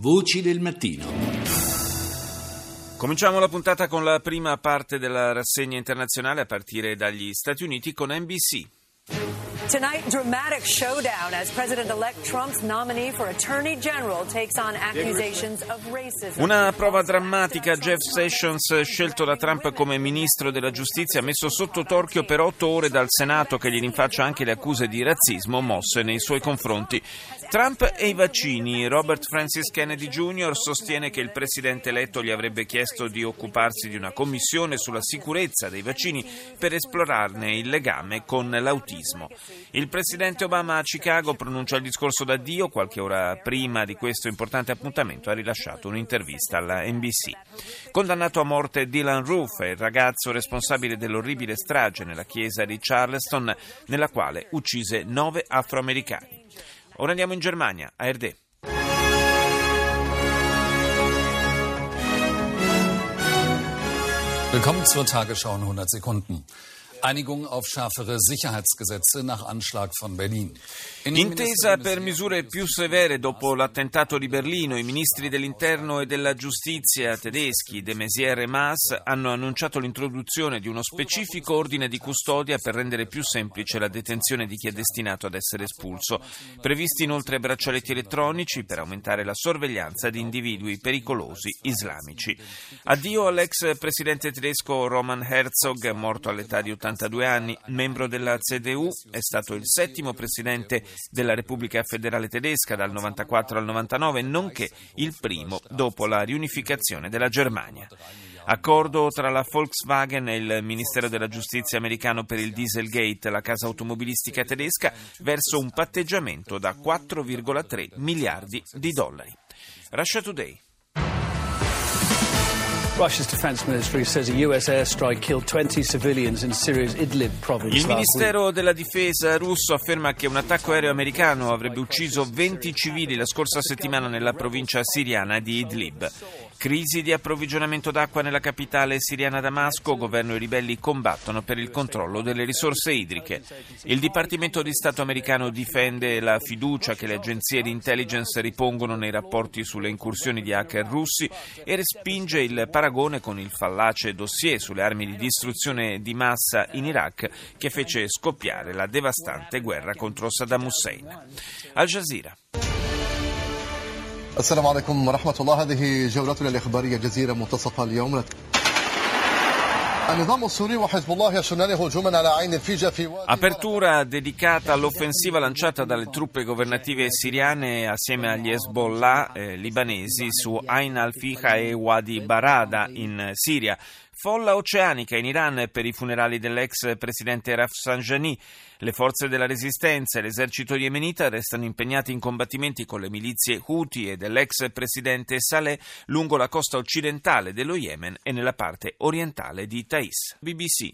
Voci del mattino. Cominciamo la puntata con la prima parte della rassegna internazionale a partire dagli Stati Uniti con NBC. Tonight, dramatic showdown as President-elect Trump's nominee for Attorney General takes on accusations of racism. Una prova drammatica. Jeff Sessions, scelto da Trump come ministro della giustizia, messo sotto torchio per 8 ore dal Senato che gli rinfaccia anche le accuse di razzismo mosse nei suoi confronti. Trump e i vaccini. Robert Francis Kennedy Jr. sostiene che il presidente eletto gli avrebbe chiesto di occuparsi di una commissione sulla sicurezza dei vaccini per esplorarne il legame con l'autismo. Il presidente Obama a Chicago pronuncia il discorso d'addio. Qualche ora prima di questo importante appuntamento ha rilasciato un'intervista alla NBC. Condannato a morte Dylan Roof, il ragazzo responsabile dell'orribile strage nella chiesa di Charleston, nella quale uccise 9 afroamericani. Ora andiamo in Germania, ARD. Willkommen zur Tagesschau in 100 Sekunden. Einigung auf schärfere Sicherheitsgesetze nach Anschlag von Berlin. Intesa per misure più severe dopo l'attentato di Berlino. I ministri dell'interno e della giustizia tedeschi, de Maizière e Maas, hanno annunciato l'introduzione di uno specifico ordine di custodia per rendere più semplice la detenzione di chi è destinato ad essere espulso. Previsti inoltre braccialetti elettronici per aumentare la sorveglianza di individui pericolosi islamici. Addio all'ex presidente tedesco Roman Herzog, morto all'età di 82 anni, membro della CDU, è stato il 7° presidente della Repubblica Federale Tedesca dal 94 al 99, nonché il primo dopo la riunificazione della Germania. Accordo tra la Volkswagen e il Ministero della Giustizia americano per il Dieselgate. La casa automobilistica tedesca verso un patteggiamento da 4,3 miliardi di dollari. Russia Today. Russia's defense ministry says a US airstrike killed 20 civilians in Syria's Idlib province. Il Ministero della Difesa russo afferma che un attacco aereo americano avrebbe ucciso 20 civili la scorsa settimana nella provincia siriana di Idlib. Crisi di approvvigionamento d'acqua nella capitale siriana Damasco. Governo e ribelli combattono per il controllo delle risorse idriche. Il Dipartimento di Stato americano difende la fiducia che le agenzie di intelligence ripongono nei rapporti sulle incursioni di hacker russi e respinge il paragone con il fallace dossier sulle armi di distruzione di massa in Iraq che fece scoppiare la devastante guerra contro Saddam Hussein. Al Jazeera. السلام عليكم ورحمة الله. هذه جولتنا الإخبارية الجزيرة منتصف اليوم. Apertura dedicata all'offensiva lanciata dalle truppe governative siriane assieme agli Hezbollah libanesi su Ain al-Fiqa e Wadi Barada in Siria. Folla oceanica in Iran per i funerali dell'ex presidente Rafsanjani. Le forze della resistenza e l'esercito yemenita restano impegnati in combattimenti con le milizie Houthi e dell'ex presidente Saleh lungo la costa occidentale dello Yemen e nella parte orientale di Taiz. BBC.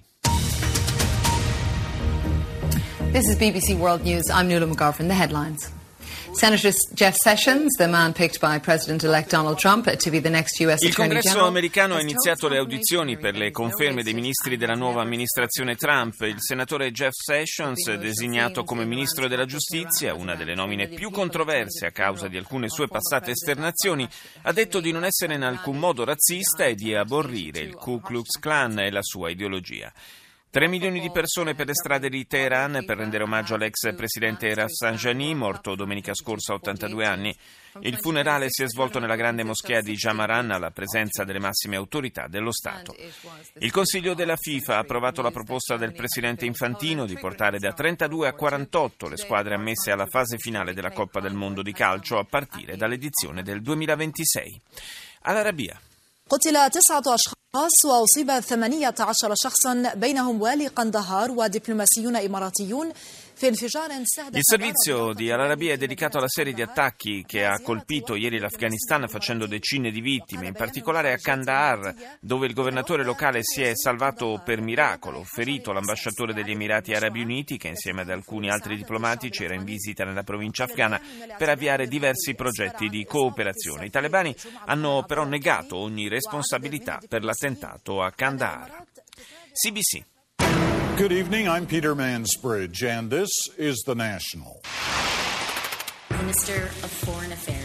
This is BBC World News. I'm Nuala McGovern. The headlines. Senator Jeff Sessions, the man picked by President-elect Donald Trump to be the next U.S. Il Attorney Congresso General, americano ha iniziato le audizioni per le conferme dei ministri della nuova amministrazione Trump. Il senatore Jeff Sessions, designato come ministro della giustizia, una delle nomine più controverse a causa di alcune sue passate esternazioni, ha detto di non essere in alcun modo razzista e di aborrire il Ku Klux Klan e la sua ideologia. 3 milioni di persone per le strade di Teheran per rendere omaggio all'ex presidente Rafsanjani, morto domenica scorsa a 82 anni. Il funerale si è svolto nella grande moschea di Jamaran alla presenza delle massime autorità dello Stato. Il Consiglio della FIFA ha approvato la proposta del presidente Infantino di portare da 32 a 48 le squadre ammesse alla fase finale della Coppa del Mondo di calcio a partire dall'edizione del 2026. All'Arabia. قتل 9 أشخاص وأصيب 18 شخصا بينهم والي قندهار ودبلوماسيون إماراتيون. Il servizio di Al Arabiya è dedicato alla serie di attacchi che ha colpito ieri l'Afghanistan facendo decine di vittime, in particolare a Kandahar, dove il governatore locale si è salvato per miracolo, ferito l'ambasciatore degli Emirati Arabi Uniti che insieme ad alcuni altri diplomatici era in visita nella provincia afghana per avviare diversi progetti di cooperazione. I talebani hanno però negato ogni responsabilità per l'attentato a Kandahar. CBC. Good evening, I'm Peter Mansbridge, and this is The National. Minister of Foreign Affairs.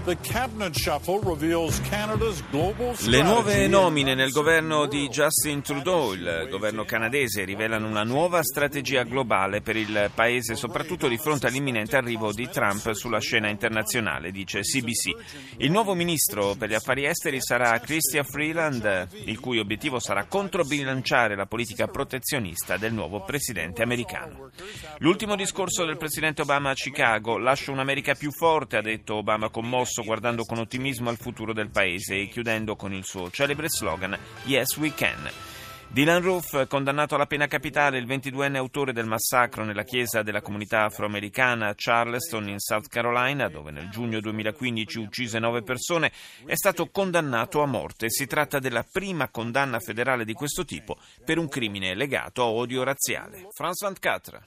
The cabinet shuffle reveals Canada's global strategy. Le nuove nomine nel governo di Justin Trudeau, il governo canadese, rivelano una nuova strategia globale per il paese, soprattutto di fronte all'imminente arrivo di Trump sulla scena internazionale, dice CBC. Il nuovo ministro per gli affari esteri sarà Chrystia Freeland, il cui obiettivo sarà controbilanciare la politica protezionista del nuovo presidente americano. L'ultimo discorso del presidente Obama a Chicago: lascio un'America più forte, ha detto Obama commosso, guardando con ottimismo al futuro del paese e chiudendo con il suo celebre slogan Yes We Can. Dylan Roof, condannato alla pena capitale, il 22enne autore del massacro nella chiesa della comunità afroamericana a Charleston in South Carolina, dove nel giugno 2015 uccise 9 persone, è stato condannato a morte. Si tratta della prima condanna federale di questo tipo per un crimine legato a odio razziale. France 24.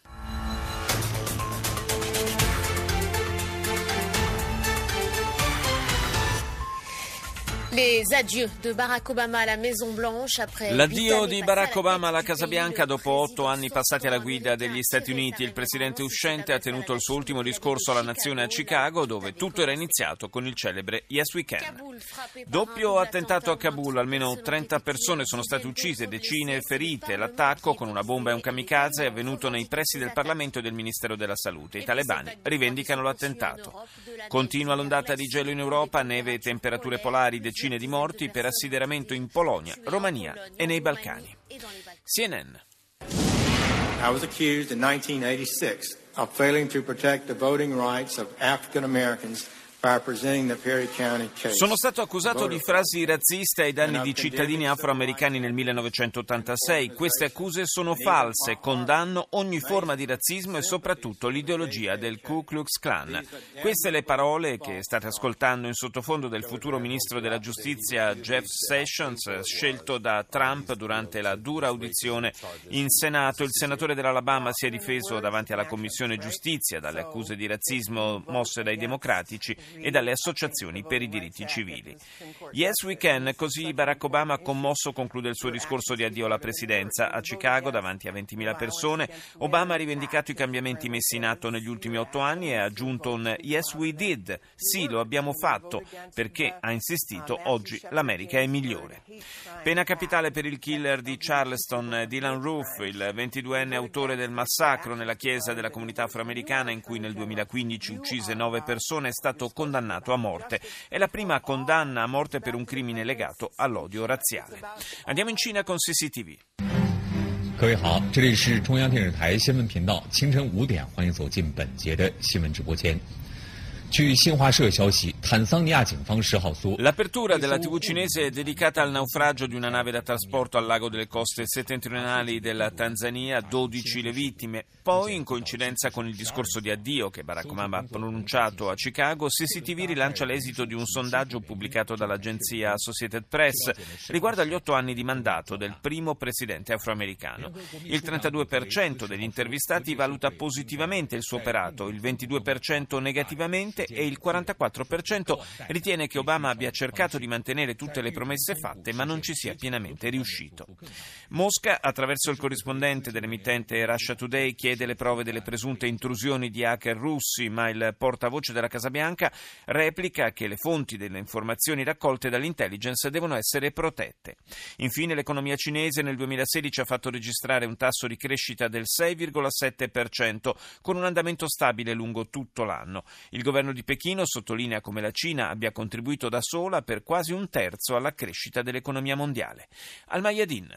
L'addio di Barack Obama alla Casa Bianca dopo 8 anni passati alla guida degli Stati Uniti. Il presidente uscente ha tenuto il suo ultimo discorso alla nazione a Chicago, dove tutto era iniziato con il celebre Yes We Can. Doppio attentato a Kabul, almeno 30 persone sono state uccise, decine ferite. L'attacco con una bomba e un kamikaze è avvenuto nei pressi del Parlamento e del Ministero della Salute. I talebani rivendicano l'attentato. Continua l'ondata di gelo in Europa, neve e temperature polari, decine di morti per assideramento in Polonia, Romania e nei Balcani. CNN. I was accused in 1986 of failing to protect the voting rights of African Americans. Sono stato accusato di frasi razziste ai danni di cittadini afroamericani nel 1986. Queste accuse sono false. Condanno ogni forma di razzismo e soprattutto l'ideologia del Ku Klux Klan. Queste le parole che state ascoltando in sottofondo del futuro ministro della giustizia Jeff Sessions, scelto da Trump durante la dura audizione in Senato. Il senatore dell'Alabama si è difeso davanti alla Commissione Giustizia dalle accuse di razzismo mosse dai democratici e dalle associazioni per i diritti civili. Yes We Can, così Barack Obama commosso conclude il suo discorso di addio alla presidenza. A Chicago, davanti a 20.000 persone, Obama ha rivendicato i cambiamenti messi in atto negli ultimi 8 anni e ha aggiunto un Yes We Did, sì, lo abbiamo fatto, perché, ha insistito, oggi l'America è migliore. Pena capitale per il killer di Charleston, Dylan Roof, il 22enne autore del massacro nella chiesa della comunità afroamericana in cui nel 2015 uccise 9 persone, è stato condannato a morte. È la prima condanna a morte per un crimine legato all'odio razziale. Andiamo in Cina con CCTV. 各位好，这里是中央电视台新闻频道，清晨5点，欢迎走进本节的新闻直播间。 L'apertura della TV cinese è dedicata al naufragio di una nave da trasporto al largo delle coste settentrionali della Tanzania, 12 le vittime. Poi, in coincidenza con il discorso di addio che Barack Obama ha pronunciato a Chicago, CCTV rilancia l'esito di un sondaggio pubblicato dall'agenzia Associated Press riguardo agli 8 anni di mandato del primo presidente afroamericano. Il 32% degli intervistati valuta positivamente il suo operato, il 22% negativamente e il 44% ritiene che Obama abbia cercato di mantenere tutte le promesse fatte ma non ci sia pienamente riuscito. Mosca, attraverso il corrispondente dell'emittente Russia Today, chiede le prove delle presunte intrusioni di hacker russi, ma il portavoce della Casa Bianca replica che le fonti delle informazioni raccolte dall'intelligence devono essere protette. Infine, l'economia cinese nel 2016 ha fatto registrare un tasso di crescita del 6,7%, con un andamento stabile lungo tutto l'anno. Il governo di Pechino sottolinea come la Cina abbia contribuito da sola per quasi un terzo alla crescita dell'economia mondiale. Al Mayadin.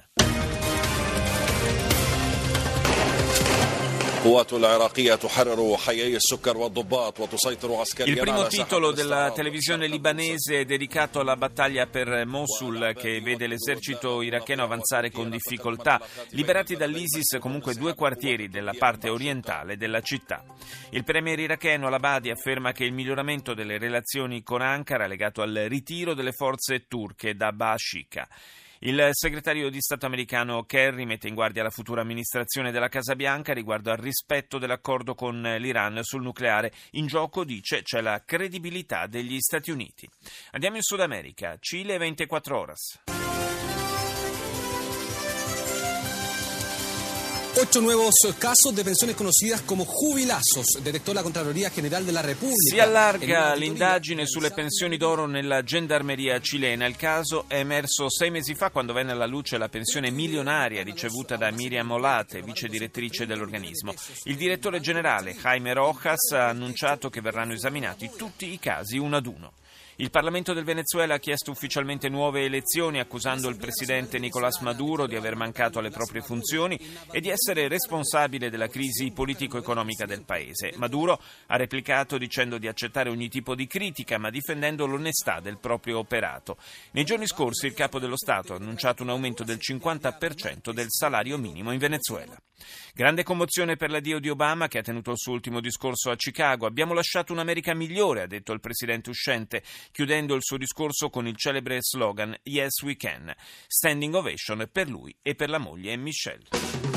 Il primo titolo della televisione libanese è dedicato alla battaglia per Mosul, che vede l'esercito iracheno avanzare con difficoltà. Liberati dall'ISIS comunque 2 quartieri della parte orientale della città. Il premier iracheno al-Abadi afferma che il miglioramento delle relazioni con Ankara è legato al ritiro delle forze turche da Baashika. Il segretario di Stato americano Kerry mette in guardia la futura amministrazione della Casa Bianca riguardo al rispetto dell'accordo con l'Iran sul nucleare. In gioco, dice, c'è la credibilità degli Stati Uniti. Andiamo in Sud America, Cile 24 horas. 8 nuevos casos de pensiones conocidas como jubilazos, detectó la Contraloría General della Repubblica. Si allarga l'indagine sulle pensioni d'oro nella gendarmeria cilena. Il caso è emerso 6 mesi fa quando venne alla luce la pensione milionaria ricevuta da Miriam Olate, vice direttrice dell'organismo. Il direttore generale Jaime Rojas ha annunciato che verranno esaminati tutti i casi uno ad uno. Il Parlamento del Venezuela ha chiesto ufficialmente nuove elezioni, accusando il presidente Nicolás Maduro di aver mancato alle proprie funzioni e di essere responsabile della crisi politico-economica del paese. Maduro ha replicato dicendo di accettare ogni tipo di critica, ma difendendo l'onestà del proprio operato. Nei giorni scorsi il capo dello Stato ha annunciato un aumento del 50% del salario minimo in Venezuela. Grande commozione per l'addio di Obama, che ha tenuto il suo ultimo discorso a Chicago. Abbiamo lasciato un'America migliore, ha detto il presidente uscente, chiudendo il suo discorso con il celebre slogan Yes We Can. Standing ovation per lui e per la moglie Michelle.